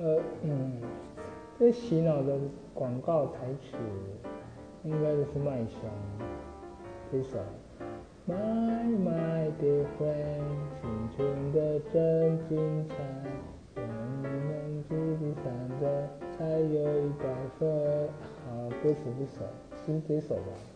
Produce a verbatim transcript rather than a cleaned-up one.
呃嗯，这洗脑的广告台词应该就是麦香这首。My my dear friend， 青春的真精彩，让你们自己闪着，才有一百分。好，歌词不熟，是这首吧？